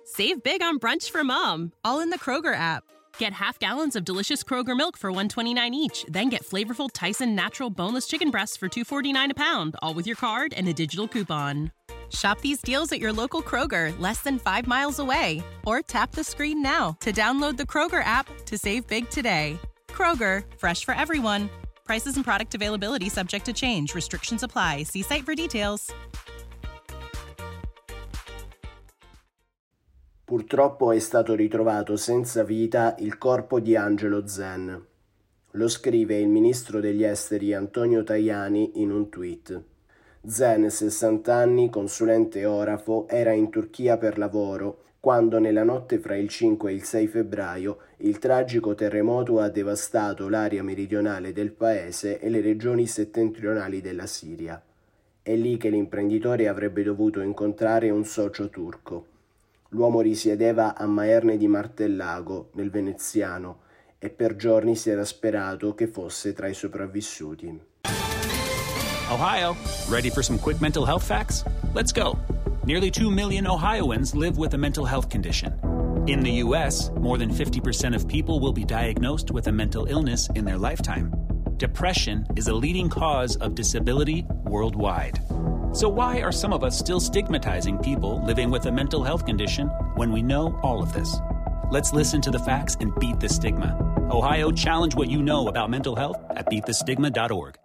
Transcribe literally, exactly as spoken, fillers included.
Save big on brunch for mom, all in the Kroger app. Get half gallons of delicious Kroger milk for one dollar and twenty-nine cents each. Then get flavorful Tyson natural boneless chicken breasts for two dollars and forty-nine cents a pound, all with your card and a digital coupon. Shop these deals at your local Kroger, less than five miles away. Or tap the screen now to download the Kroger app to save big today. Kroger, fresh for everyone. Prices and product availability subject to change. Restrictions apply. See site for details. Purtroppo è stato ritrovato senza vita il corpo di Angelo Zen. Lo scrive il ministro degli esteri Antonio Tajani in un tweet. Zen, sessanta anni, consulente orafo, era in Turchia per lavoro quando nella notte fra il cinque e il sei febbraio il tragico terremoto ha devastato l'area meridionale del paese e le regioni settentrionali della Siria. È lì che l'imprenditore avrebbe dovuto incontrare un socio turco. L'uomo risiedeva a Maerne di Martellago, nel veneziano, e per giorni si era sperato che fosse tra i sopravvissuti. Ohio, ready for some quick mental health facts? Let's go. Nearly two million Ohioans live with a mental health condition. In the U S, more than fifty percent of people will be diagnosed with a mental illness in their lifetime. Depression is a leading cause of disability worldwide. So why are some of us still stigmatizing people living with a mental health condition when we know all of this? Let's listen to the facts and beat the stigma. Ohio, challenge what you know about mental health at beat the stigma dot org.